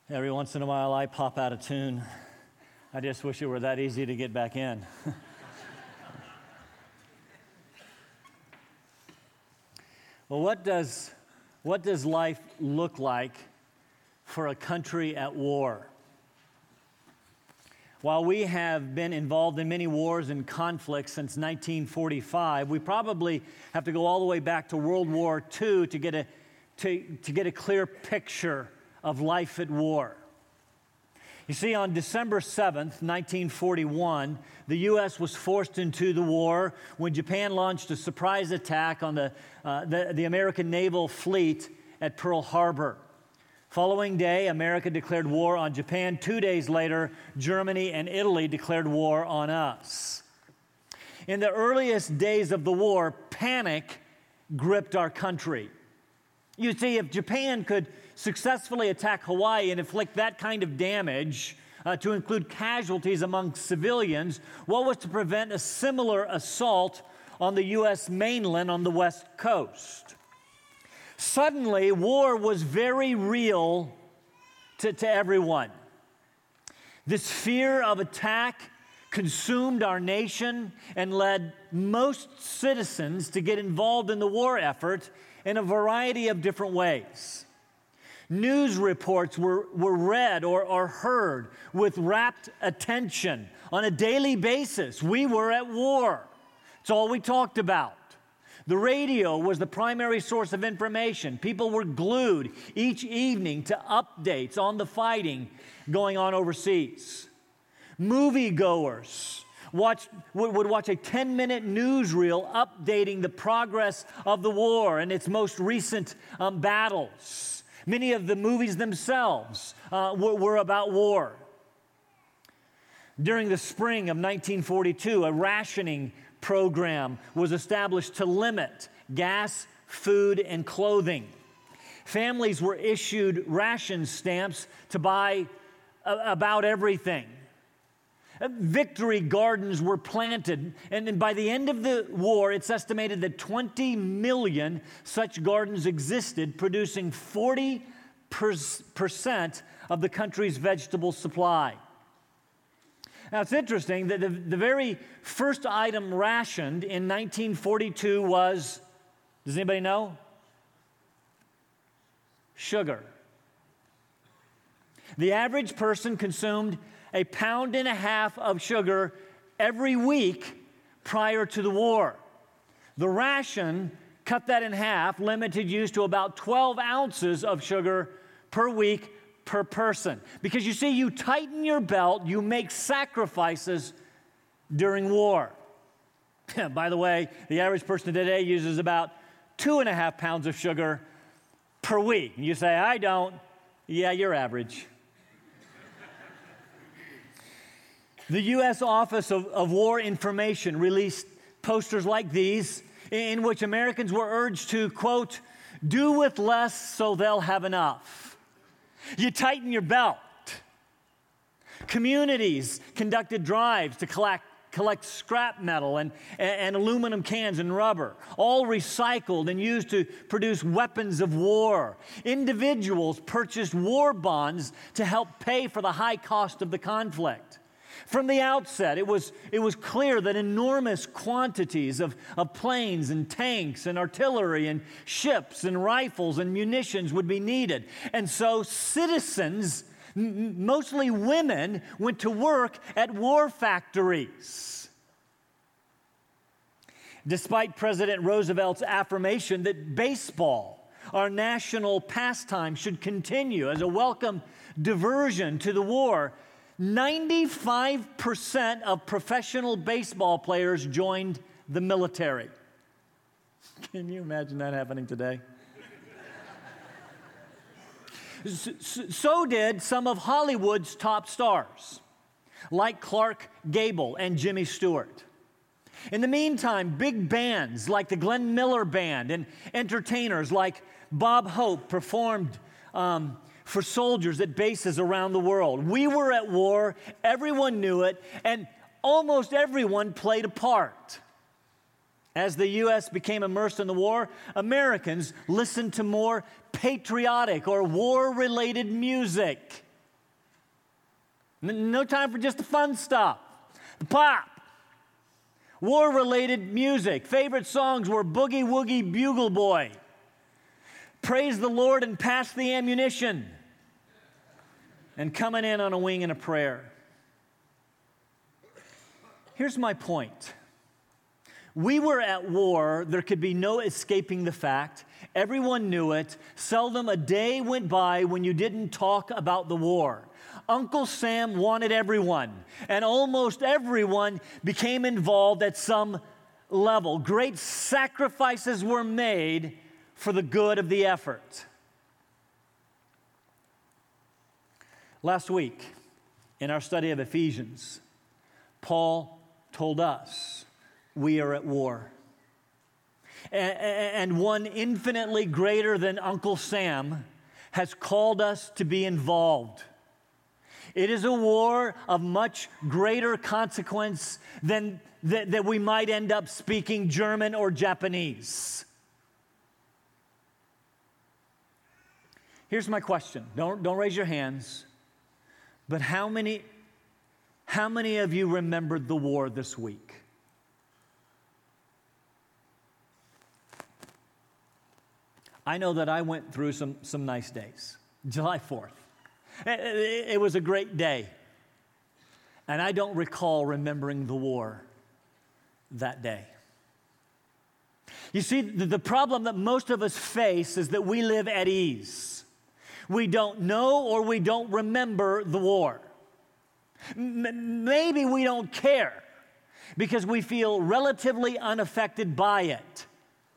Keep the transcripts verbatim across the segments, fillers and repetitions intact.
Every once in a while, I pop out of tune. I just wish it were that easy to get back in. Well, what does, what does life look like for a country at war? While we have been involved in many wars and conflicts since nineteen forty-five, we probably have to go all the way back to World War Two to get a, to, to get a clear picture of life at war. You see, on December seventh, nineteen forty-one, the U S was forced into the war when Japan launched a surprise attack on the, uh, the, the American naval fleet at Pearl Harbor. Following day, America declared war on Japan. Two days later, Germany and Italy declared war on us. In the earliest days of the war, panic gripped our country. You see, if Japan could successfully attack Hawaii and inflict that kind of damage uh, to include casualties among civilians, what was to prevent a similar assault on the U S mainland on the West Coast? Suddenly, war was very real to, to everyone. This fear of attack consumed our nation and led most citizens to get involved in the war effort in a variety of different ways. News reports were, were read or, or heard with rapt attention on a daily basis. We were at war. It's all we talked about. The radio was the primary source of information. People were glued each evening to updates on the fighting going on overseas. Moviegoers watched, would watch a ten-minute newsreel updating the progress of the war and its most recent um, battles. Many of the movies themselves uh, were, were about war. During the spring of nineteen forty-two, a rationing program was established to limit gas, food, and clothing. Families were issued ration stamps to buy a- about everything. Victory gardens were planted, and then by the end of the war, it's estimated that twenty million such gardens existed, producing forty percent of the country's vegetable supply. Now, it's interesting that the, the very first item rationed in nineteen forty-two was, does anybody know? Sugar. The average person consumed a pound and a half of sugar every week prior to the war. The ration cut that in half, limited use to about twelve ounces of sugar per week per person. Because you see, you tighten your belt, you make sacrifices during war. By the way, the average person today uses about two and a half pounds of sugar per week. You say, I don't. Yeah, you're average. The U S Office of, of War Information released posters like these in which Americans were urged to, quote, do with less so they'll have enough. You tighten your belt. Communities conducted drives to collect, collect scrap metal and, and, and aluminum cans and rubber, all recycled and used to produce weapons of war. Individuals purchased war bonds to help pay for the high cost of the conflict. From the outset, it was, it was clear that enormous quantities of, of planes and tanks and artillery and ships and rifles and munitions would be needed. And so citizens, m- mostly women, went to work at war factories. Despite President Roosevelt's affirmation that baseball, our national pastime, should continue as a welcome diversion to the war, ninety-five percent of professional baseball players joined the military. Can you imagine that happening today? so, so did some of Hollywood's top stars, like Clark Gable and Jimmy Stewart. In the meantime, big bands like the Glenn Miller Band and entertainers like Bob Hope performed um, for soldiers at bases around the world. We were at war, everyone knew it, and almost everyone played a part. As the U S became immersed in the war, Americans listened to more patriotic or war-related music. N- no time for just the fun stuff. The pop. War-related music. Favorite songs were Boogie Woogie Bugle Boy. Praise the Lord and pass the ammunition. And coming in on a wing and a prayer. Here's my point. We were at war. There could be no escaping the fact. Everyone knew it. Seldom a day went by when you didn't talk about the war. Uncle Sam wanted everyone, and almost everyone became involved at some level. Great sacrifices were made for the good of the effort. Last week, in our study of Ephesians, Paul told us we are at war. And one infinitely greater than Uncle Sam has called us to be involved. It is a war of much greater consequence than that, that we might end up speaking German or Japanese. Here's my question. Don't, don't raise your hands. But how many, how many of you remembered the war this week? I know that I went through some, some nice days. July fourth. It, it was a great day. And I don't recall remembering the war that day. You see, the, the problem that most of us face is that we live at ease. We don't know or we don't remember the war. M- maybe we don't care because we feel relatively unaffected by it.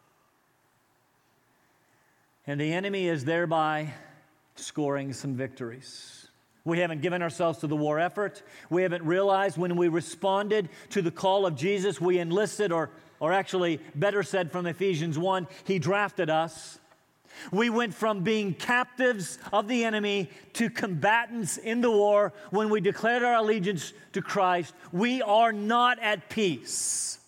And the enemy is thereby scoring some victories. We haven't given ourselves to the war effort. We haven't realized when we responded to the call of Jesus, we enlisted, or, or actually, better said from Ephesians one, He drafted us. We went from being captives of the enemy to combatants in the war when we declared our allegiance to Christ. We are not at peace.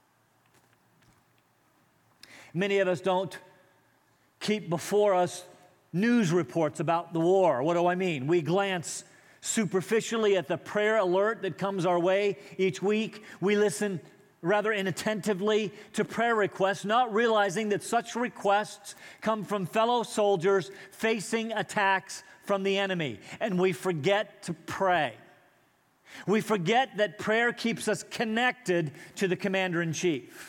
Many of us don't keep before us news reports about the war. What do I mean? We glance superficially at the prayer alert that comes our way each week. We listen rather inattentively to prayer requests, not realizing that such requests come from fellow soldiers facing attacks from the enemy. And we forget to pray. We forget that prayer keeps us connected to the commander-in-chief.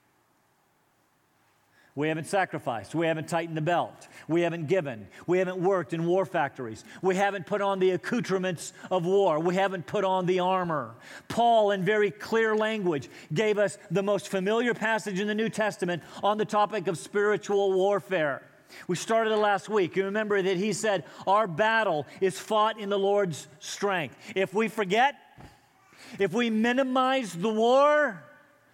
We haven't sacrificed. We haven't tightened the belt. We haven't given. We haven't worked in war factories. We haven't put on the accoutrements of war. We haven't put on the armor. Paul, in very clear language, gave us the most familiar passage in the New Testament on the topic of spiritual warfare. We started it last week. You remember that he said, our battle is fought in the Lord's strength. If we forget, if we minimize the war,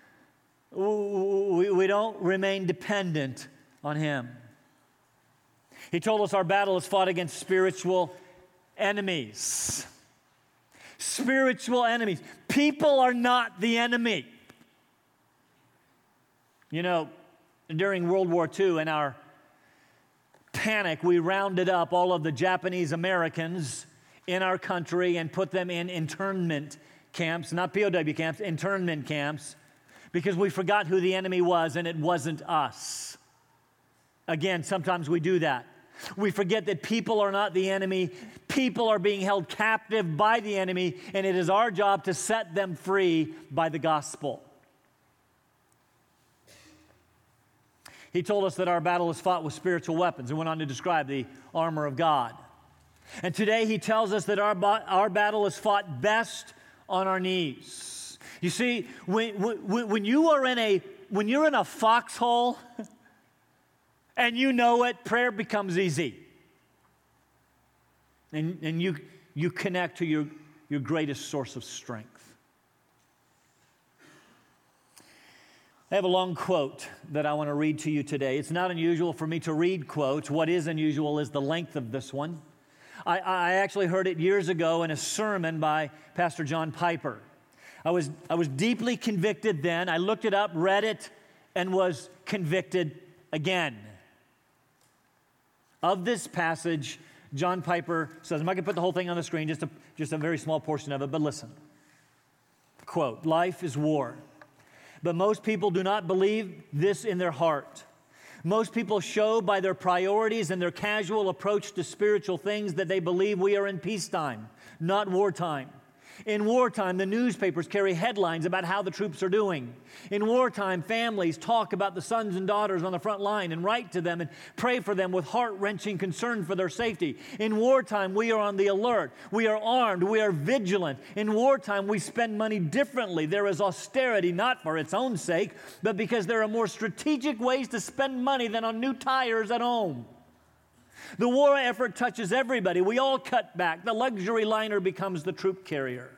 We, we don't remain dependent on Him. He told us our battle is fought against spiritual enemies. Spiritual enemies. People are not the enemy. You know, during World War Two, in our panic, we rounded up all of the Japanese Americans in our country and put them in internment camps, not P O W camps, internment camps, because we forgot who the enemy was, and it wasn't us. Again, sometimes we do that. We forget that people are not the enemy. People are being held captive by the enemy, and it is our job to set them free by the gospel. He told us that our battle is fought with spiritual weapons and went on to describe the armor of God. And today he tells us that our, our battle is fought best on our knees. You see, when, when, when you are in a when you're in a foxhole and you know it, prayer becomes easy. And, and you, you connect to your, your greatest source of strength. I have a long quote that I want to read to you today. It's not unusual for me to read quotes. What is unusual is the length of this one. I, I actually heard it years ago in a sermon by Pastor John Piper. I was, I was deeply convicted then. I looked it up, read it, and was convicted again. Of this passage John Piper says, I'm not going to put the whole thing on the screen, just a, just a very small portion of it, but listen. Quote, life is war, but most people do not believe this in their heart. Most people show by their priorities and their casual approach to spiritual things that they believe we are in peacetime, not wartime. In wartime, the newspapers carry headlines about how the troops are doing. In wartime, families talk about the sons and daughters on the front line and write to them and pray for them with heart-wrenching concern for their safety. In wartime, we are on the alert. We are armed. We are vigilant. In wartime, we spend money differently. There is austerity, not for its own sake, but because there are more strategic ways to spend money than on new tires at home. The war effort touches everybody. We all cut back. The luxury liner becomes the troop carrier.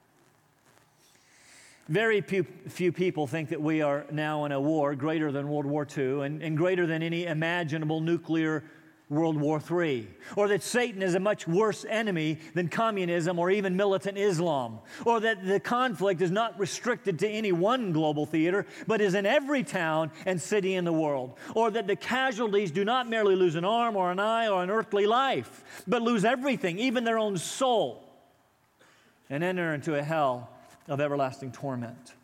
Very few, few people think that we are now in a war greater than World War Two and, and greater than any imaginable nuclear World War Three, or that Satan is a much worse enemy than communism or even militant Islam, or that the conflict is not restricted to any one global theater, but is in every town and city in the world, or that the casualties do not merely lose an arm or an eye or an earthly life, but lose everything, even their own soul, and enter into a hell of everlasting torment.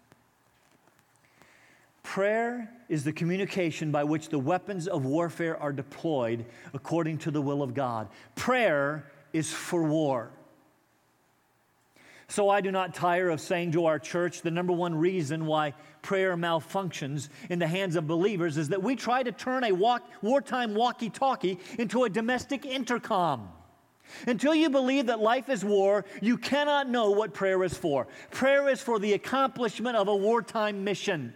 Prayer is the communication by which the weapons of warfare are deployed according to the will of God. Prayer is for war. So I do not tire of saying to our church the number one reason why prayer malfunctions in the hands of believers is that we try to turn a walk, wartime walkie-talkie into a domestic intercom. Until you believe that life is war, you cannot know what prayer is for. Prayer is for the accomplishment of a wartime mission.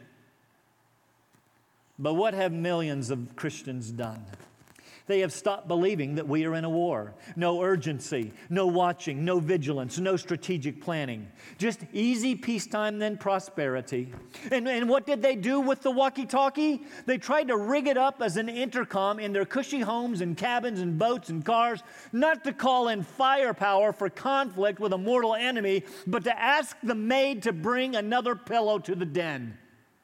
But what have millions of Christians done? They have stopped believing that we are in a war. No urgency, no watching, no vigilance, no strategic planning. Just easy peacetime, then prosperity. And, and what did they do with the walkie-talkie? They tried to rig it up as an intercom in their cushy homes and cabins and boats and cars, not to call in firepower for conflict with a mortal enemy, but to ask the maid to bring another pillow to the den.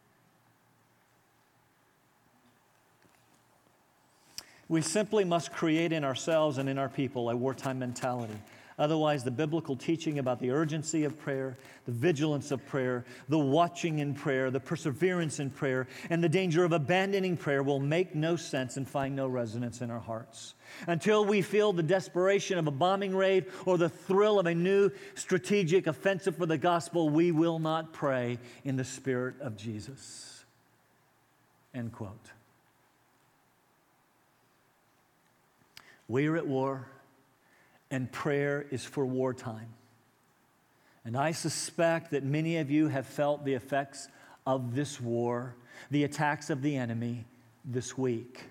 We simply must create in ourselves and in our people a wartime mentality. Otherwise, the biblical teaching about the urgency of prayer, the vigilance of prayer, the watching in prayer, the perseverance in prayer, and the danger of abandoning prayer will make no sense and find no resonance in our hearts. Until we feel the desperation of a bombing raid or the thrill of a new strategic offensive for the gospel, we will not pray in the Spirit of Jesus. End quote. We are at war, and prayer is for wartime. And I suspect that many of you have felt the effects of this war, the attacks of the enemy this week.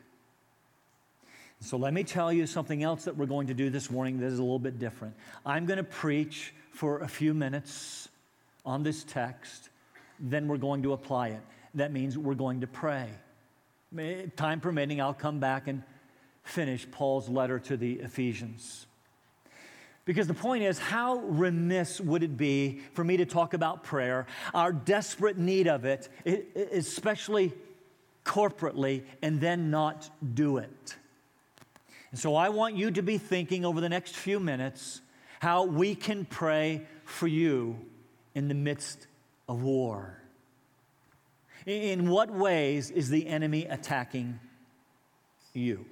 So let me tell you something else that we're going to do this morning that is a little bit different. I'm going to preach for a few minutes on this text, then we're going to apply it. That means we're going to pray. Time permitting, I'll come back and finish Paul's letter to the Ephesians. Because the point is, how remiss would it be for me to talk about prayer, our desperate need of it, especially corporately, and then not do it? And so I want you to be thinking over the next few minutes how we can pray for you in the midst of war. In what ways is the enemy attacking you?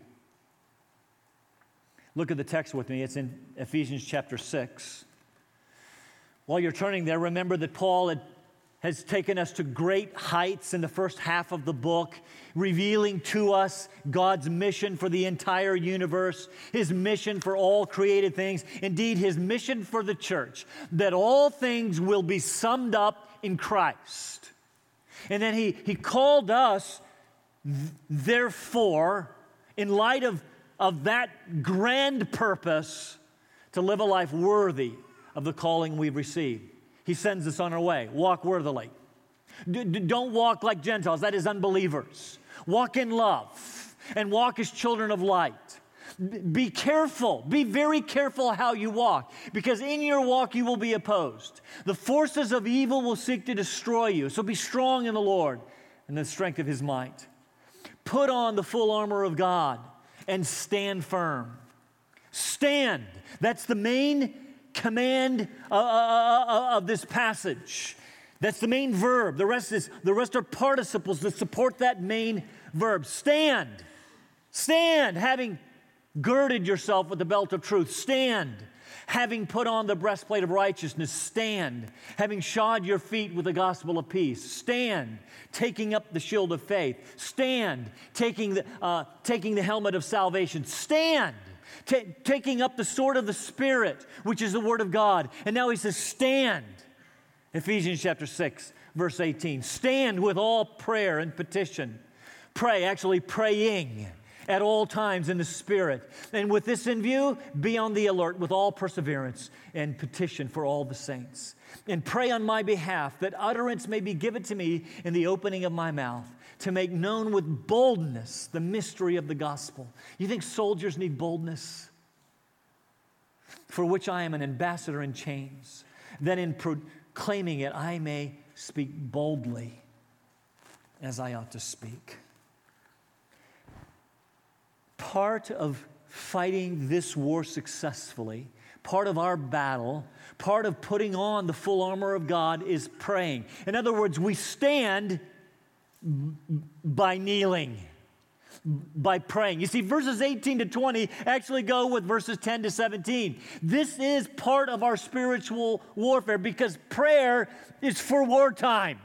Look at the text with me. It's in Ephesians chapter six. While you're turning there, remember that Paul had, has taken us to great heights in the first half of the book, revealing to us God's mission for the entire universe, His mission for all created things, indeed His mission for the church, that all things will be summed up in Christ. And then He, he called us, therefore, in light of of that grand purpose, to live a life worthy of the calling we've received. He sends us on our way. Walk worthily. D- d- don't walk like Gentiles, that is unbelievers. Walk in love and walk as children of light. B- be careful, be very careful how you walk, because in your walk you will be opposed. The forces of evil will seek to destroy you, so be strong in the Lord and the strength of His might. Put on the full armor of God and stand firm. Stand. That's the main command uh, uh, uh, of this passage. That's the main verb. The rest is the rest are participles that support that main verb. Stand. Stand, having girded yourself with the belt of truth. Stand, having put on the breastplate of righteousness. Stand, having shod your feet with the gospel of peace. Stand, taking up the shield of faith. Stand, taking the, uh, taking the helmet of salvation. Stand, ta- taking up the sword of the Spirit, which is the word of God. And now he says, stand. Ephesians chapter six, verse eighteen. Stand with all prayer and petition. Pray, actually praying at all times in the Spirit. And with this in view, be on the alert with all perseverance and petition for all the saints. And pray on my behalf that utterance may be given to me in the opening of my mouth, to make known with boldness the mystery of the gospel. You think soldiers need boldness? For which I am an ambassador in chains. Then in proclaiming it, I may speak boldly as I ought to speak. Part of fighting this war successfully, part of our battle, part of putting on the full armor of God is praying. In other words, we stand by kneeling, by praying. You see, verses eighteen to twenty actually go with verses ten to seventeen. This is part of our spiritual warfare because prayer is for wartime.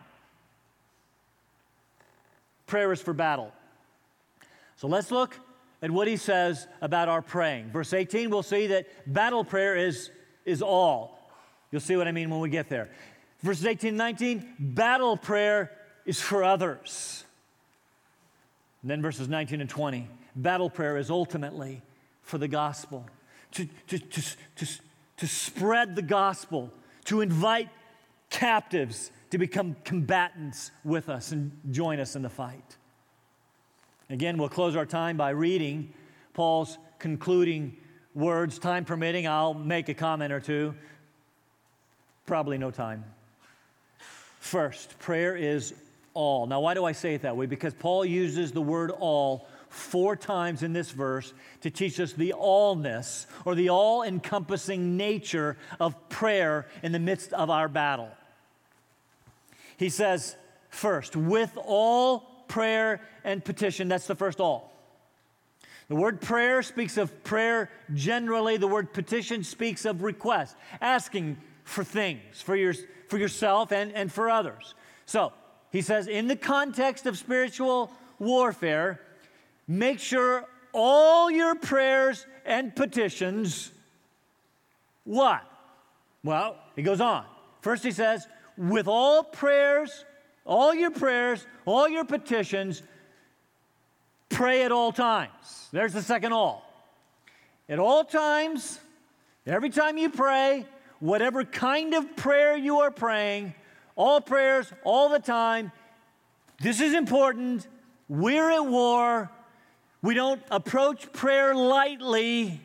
Prayer is for battle. So let's look at what he says about our praying. Verse eighteen, we'll see that battle prayer is, is all. You'll see what I mean when we get there. Verses eighteen and nineteen, battle prayer is for others. And then verses nineteen and twenty, battle prayer is ultimately for the gospel. To, to, to, to, to spread the gospel, to invite captives to become combatants with us and join us in the fight. Again, we'll close our time by reading Paul's concluding words. Time permitting, I'll make a comment or two. Probably no time. First, prayer is all. Now, why do I say it that way? Because Paul uses the word all four times in this verse to teach us the allness or the all-encompassing nature of prayer in the midst of our battle. He says, first, with all prayer and petition. That's the first all. The word prayer speaks of prayer generally. The word petition speaks of request, asking for things for, your, for yourself and, and for others. So, he says, in the context of spiritual warfare, make sure all your prayers and petitions, what? Well, he goes on. First he says, with all prayers, all your prayers, all your petitions, pray at all times. There's the second all. At all times, every time you pray, whatever kind of prayer you are praying, all prayers, all the time, this is important. We're at war. We don't approach prayer lightly.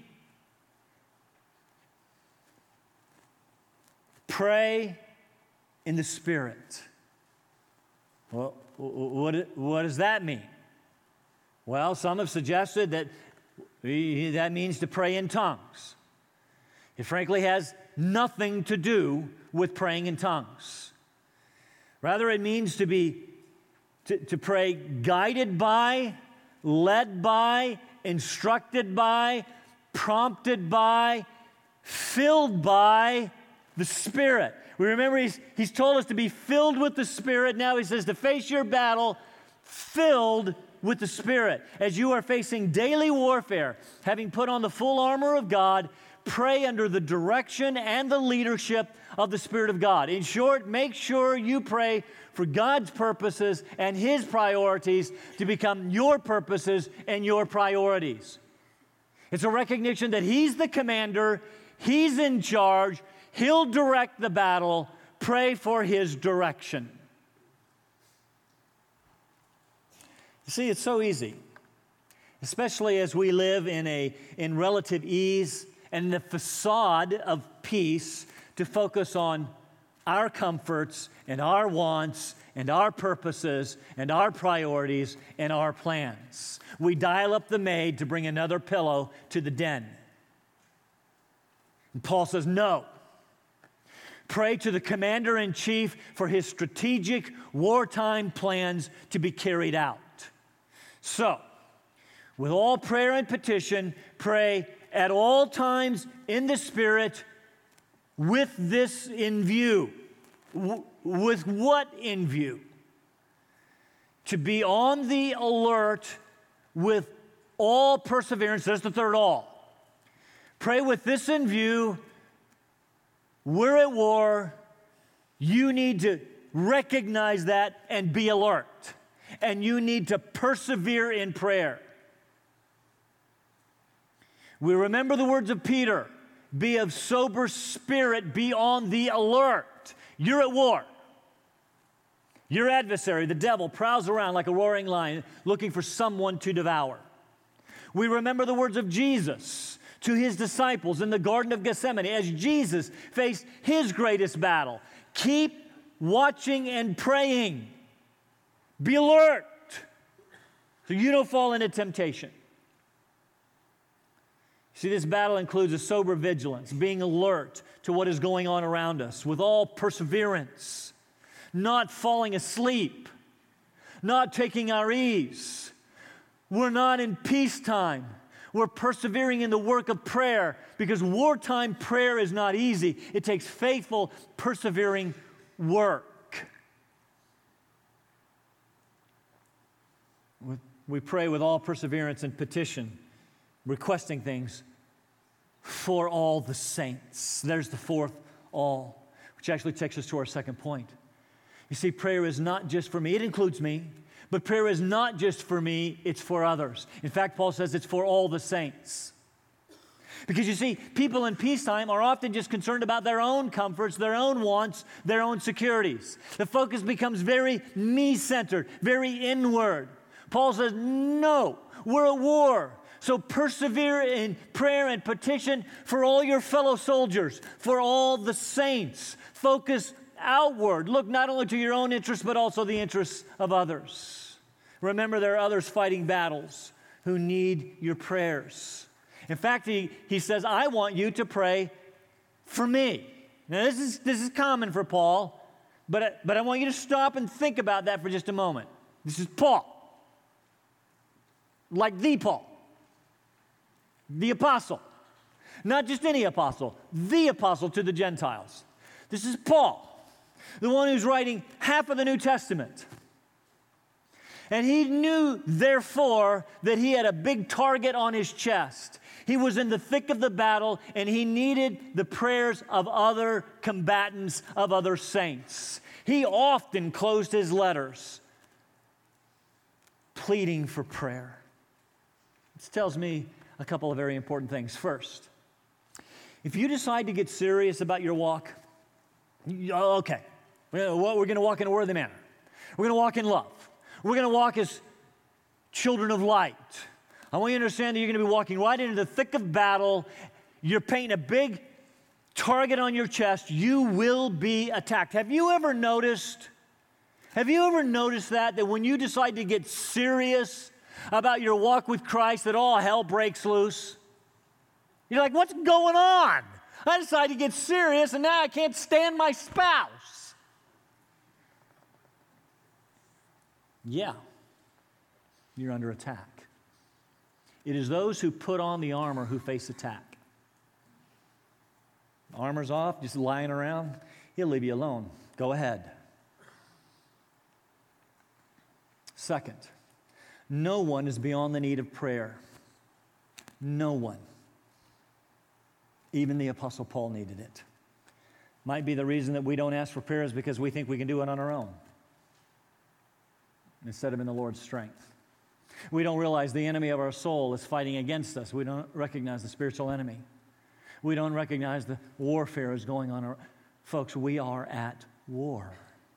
Pray in the Spirit. Well, what, what does that mean? Well, some have suggested that that means to pray in tongues. It frankly has nothing to do with praying in tongues. Rather, it means to be to, to pray guided by, led by, instructed by, prompted by, filled by the Spirit. We remember he's, he's told us to be filled with the Spirit. Now he says to face your battle filled with the Spirit. As you are facing daily warfare, having put on the full armor of God, pray under the direction and the leadership of the Spirit of God. In short, make sure you pray for God's purposes and His priorities to become your purposes and your priorities. It's a recognition that He's the commander, He's in charge, He'll direct the battle. Pray for His direction. You see, it's so easy, especially as we live in a in relative ease and the facade of peace, to focus on our comforts and our wants and our purposes and our priorities and our plans. We dial up the maid to bring another pillow to the den. And Paul says, no. Pray to the commander-in-chief for his strategic wartime plans to be carried out. So, with all prayer and petition, pray at all times in the Spirit with this in view. W- with what in view? To be on the alert with all perseverance. There's the third all. Pray with this in view. We're at war. You need to recognize that and be alert. And you need to persevere in prayer. We remember the words of Peter. Be of sober spirit. Be on the alert. You're at war. Your adversary, the devil, prowls around like a roaring lion looking for someone to devour. We remember the words of Jesus to his disciples in the Garden of Gethsemane as Jesus faced his greatest battle. Keep watching and praying. Be alert so you don't fall into temptation. See, this battle includes a sober vigilance, being alert to what is going on around us with all perseverance, not falling asleep, not taking our ease. We're not in peacetime. We're persevering in the work of prayer because wartime prayer is not easy. It takes faithful, persevering work. We pray with all perseverance and petition, requesting things for all the saints. There's the fourth all, which actually takes us to our second point. You see, prayer is not just for me. It includes me. But prayer is not just for me, it's for others. In fact, Paul says it's for all the saints. Because you see, people in peacetime are often just concerned about their own comforts, their own wants, their own securities. The focus becomes very me-centered, very inward. Paul says, no, we're at war. So persevere in prayer and petition for all your fellow soldiers, for all the saints. Focus outward. Look not only to your own interests, but also the interests of others. Remember, there are others fighting battles who need your prayers. In fact, he, he says, I want you to pray for me. Now, this is, this is common for Paul, but, but I want you to stop and think about that for just a moment. This is Paul. Like the Paul. The apostle. Not just any apostle. The apostle to the Gentiles. This is Paul. The one who's writing half of the New Testament. And he knew, therefore, that he had a big target on his chest. He was in the thick of the battle, and he needed the prayers of other combatants, of other saints. He often closed his letters pleading for prayer. This tells me a couple of very important things. First, if you decide to get serious about your walk, okay, we're going to walk in a worthy manner. We're going to walk in love. We're going to walk as children of light. I want you to understand that you're going to be walking right into the thick of battle. You're painting a big target on your chest. You will be attacked. Have you ever noticed, have you ever noticed that, that when you decide to get serious about your walk with Christ, that all hell breaks loose? You're like, what's going on? I decided to get serious, and now I can't stand my spouse. Yeah, you're under attack. It is those who put on the armor who face attack. Armor's off, just lying around, he'll leave you alone. Go ahead. Second, no one is beyond the need of prayer. No one. Even the Apostle Paul needed it. Might be the reason that we don't ask for prayer is because we think we can do it on our own instead of in the Lord's strength. We don't realize the enemy of our soul is fighting against us. We don't recognize the spiritual enemy. We don't recognize the warfare is going on. Folks, we are at war.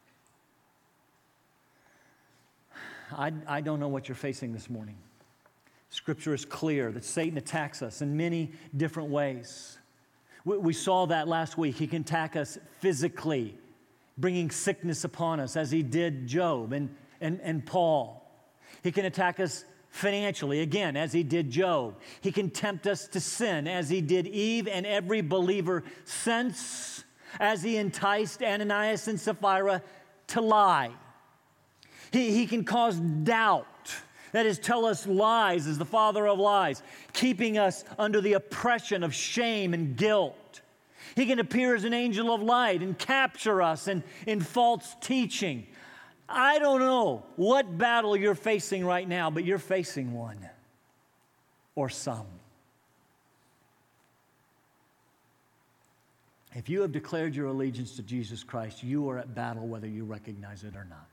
I, I don't know what you're facing this morning. Scripture is clear that Satan attacks us in many different ways. We, we saw that last week. He can attack us physically, bringing sickness upon us, as he did Job and, and, and Paul. He can attack us financially, again, as he did Job. He can tempt us to sin, as he did Eve and every believer since, as he enticed Ananias and Sapphira to lie. He, he can cause doubt. That is, tell us lies as the father of lies, keeping us under the oppression of shame and guilt. He can appear as an angel of light and capture us in, in false teaching. I don't know what battle you're facing right now, but you're facing one or some. If you have declared your allegiance to Jesus Christ, you are at battle whether you recognize it or not.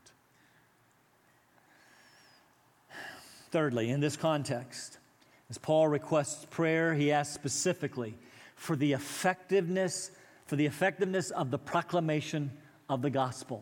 Thirdly, in this context, as Paul requests prayer, he asks specifically for the effectiveness, for the effectiveness of the proclamation of the gospel.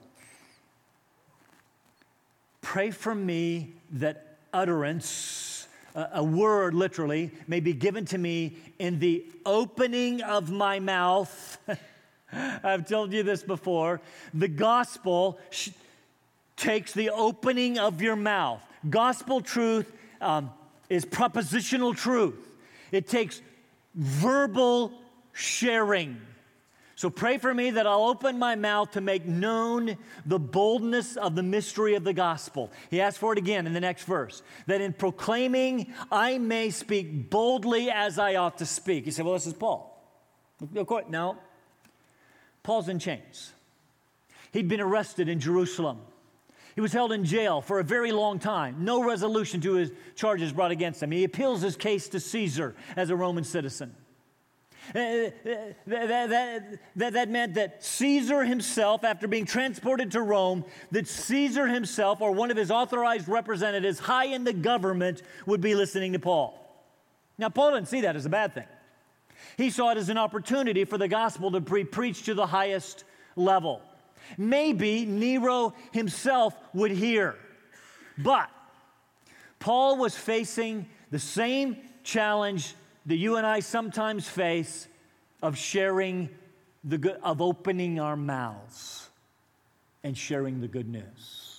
Pray for me that utterance, a, a word literally, may be given to me in the opening of my mouth. I've told you this before. The gospel sh- takes the opening of your mouth. Gospel truth um, is propositional truth. It takes verbal sharing. So pray for me that I'll open my mouth to make known the boldness of the mystery of the gospel. He asks for it again in the next verse, that in proclaiming I may speak boldly as I ought to speak. You say, well, this is Paul. Of course, no. Paul's in chains. He'd been arrested in Jerusalem. He was held in jail for a very long time. No resolution to his charges brought against him. He appeals his case to Caesar as a Roman citizen. Uh, that, that, that, that meant that Caesar himself, after being transported to Rome, that Caesar himself or one of his authorized representatives high in the government would be listening to Paul. Now, Paul didn't see that as a bad thing. He saw it as an opportunity for the gospel to be preached to the highest level. Maybe Nero himself would hear. But Paul was facing the same challenge that you and I sometimes face of sharing the good, of opening our mouths and sharing the good news.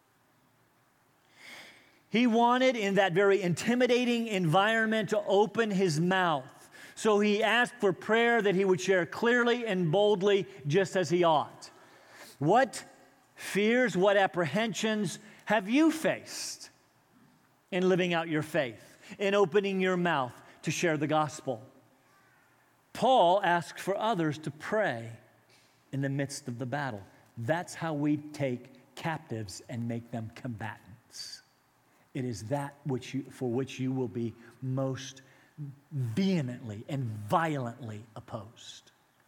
He wanted in that very intimidating environment to open his mouth. So he asked for prayer that he would share clearly and boldly just as he ought. What fears, what apprehensions have you faced in living out your faith, in opening your mouth to share the gospel? Paul asked for others to pray in the midst of the battle. That's how we take captives and make them combatants. It is that which you, for which you will be most vehemently and violently opposed.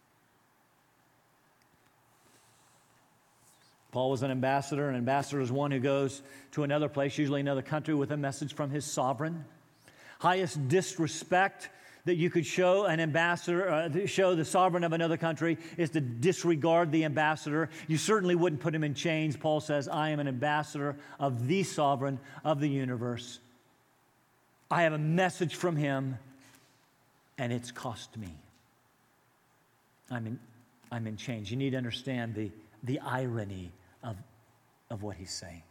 Paul was an ambassador. An ambassador is one who goes to another place, usually another country, with a message from his sovereign. Highest disrespect that you could show an ambassador, uh, show the sovereign of another country, is to disregard the ambassador. You certainly wouldn't put him in chains. Paul says, I am an ambassador of the sovereign of the universe. I have a message from him, and it's cost me. I'm in, I'm in chains. You need to understand the, the irony of, of what he's saying.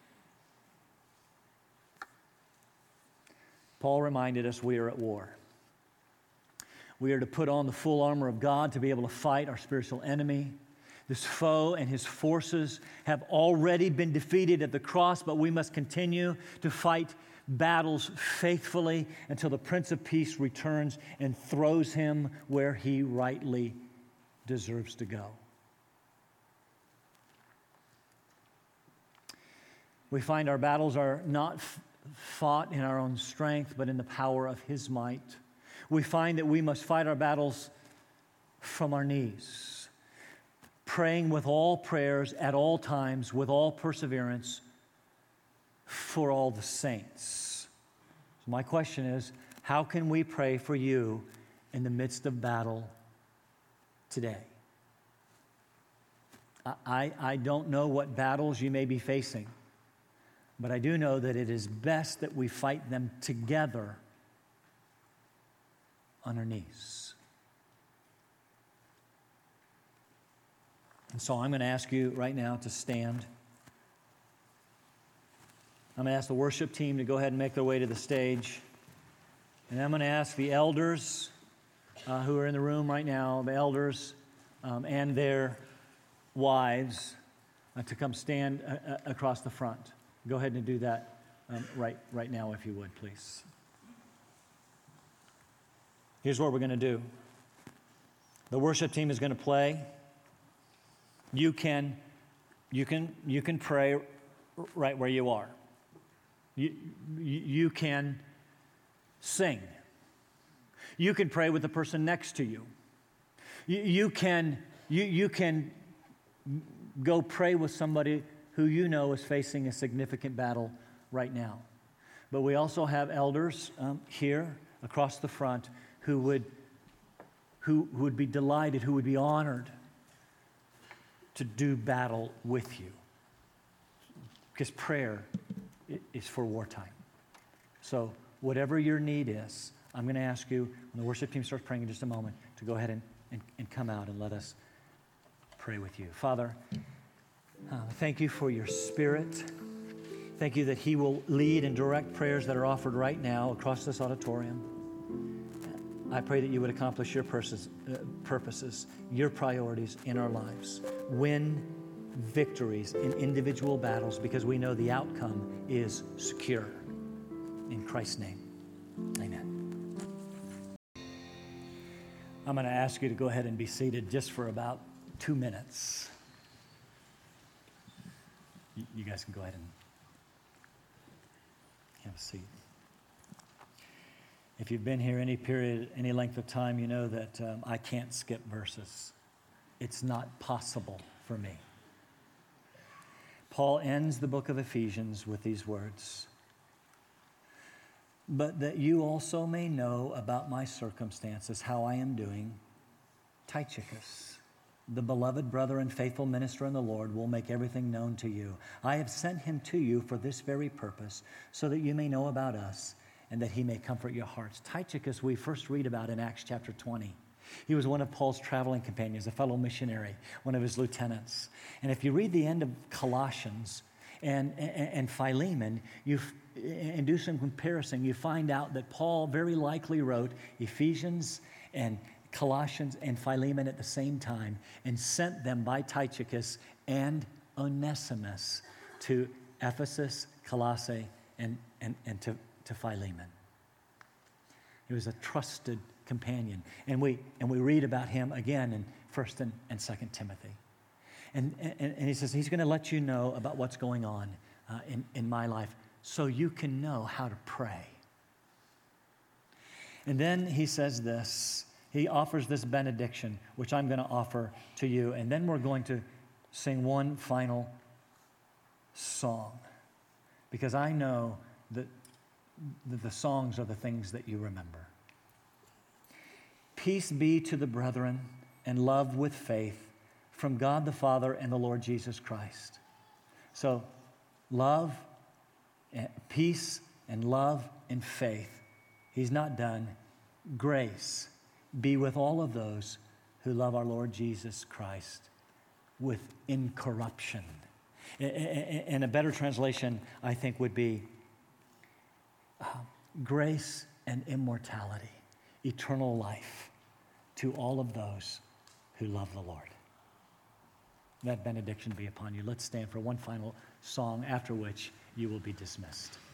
Paul reminded us we are at war. We are to put on the full armor of God to be able to fight our spiritual enemy. This foe and his forces have already been defeated at the cross, but we must continue to fight battles faithfully until the Prince of Peace returns and throws him where he rightly deserves to go. We find our battles are not f- fought in our own strength, but in the power of his might. We find that we must fight our battles from our knees, praying with all prayers at all times, with all perseverance, for all the saints. So my question is, how can we pray for you in the midst of battle today? I, I, I don't know what battles you may be facing, but I do know that it is best that we fight them together on our knees. And so I'm going to ask you right now to stand. I'm going to ask the worship team to go ahead and make their way to the stage. And I'm going to ask the elders uh, who are in the room right now, the elders um, and their wives, uh, to come stand uh, uh, across the front. Go ahead and do that um, right, right now, if you would, please. Here's what we're going to do. The worship team is going to play. You can, you can, you can pray right where you are. You, you, you can sing. You can pray with the person next to you. You, you can, you, you can go pray with somebody who you know is facing a significant battle right now. But we also have elders um, here across the front who would, who, who would be delighted, who would be honored to do battle with you. Because prayer is for wartime. So whatever your need is, I'm going to ask you, when the worship team starts praying in just a moment, to go ahead and, and, and come out and let us pray with you. Father, uh, thank you for your Spirit. Thank you that He will lead and direct prayers that are offered right now across this auditorium. I pray that you would accomplish your purposes, uh, purposes, your priorities in our lives. Win victories in individual battles because we know the outcome is secure. In Christ's name, amen. I'm going to ask you to go ahead and be seated just for about two minutes. You, you guys can go ahead and have a seat. If you've been here any period, any length of time, you know that um, I can't skip verses. It's not possible for me. Paul ends the book of Ephesians with these words, "But that you also may know about my circumstances, how I am doing, Tychicus, the beloved brother and faithful minister in the Lord, will make everything known to you. I have sent him to you for this very purpose, so that you may know about us, and that he may comfort your hearts." Tychicus, we first read about in Acts chapter twenty. He was one of Paul's traveling companions, a fellow missionary, one of his lieutenants. And if you read the end of Colossians and, and, and Philemon, you and do some comparison, you find out that Paul very likely wrote Ephesians and Colossians and Philemon at the same time and sent them by Tychicus and Onesimus to Ephesus, Colossae, and, and, and to, to Philemon. He was a trusted companion. And we and we read about him again in First and, and Second Timothy. And, and, and he says he's going to let you know about what's going on uh, in, in my life so you can know how to pray. And then he says this. He offers this benediction, which I'm going to offer to you. And then we're going to sing one final song. Because I know that the songs are the things that you remember. Peace be to the brethren and love with faith from God the Father and the Lord Jesus Christ. So, love, and peace, and love and faith. He's not done. Grace be with all of those who love our Lord Jesus Christ with incorruption. And a better translation, I think, would be uh, grace and immortality, eternal life to all of those who love the Lord. That benediction be upon you. Let's stand for one final song, after which you will be dismissed.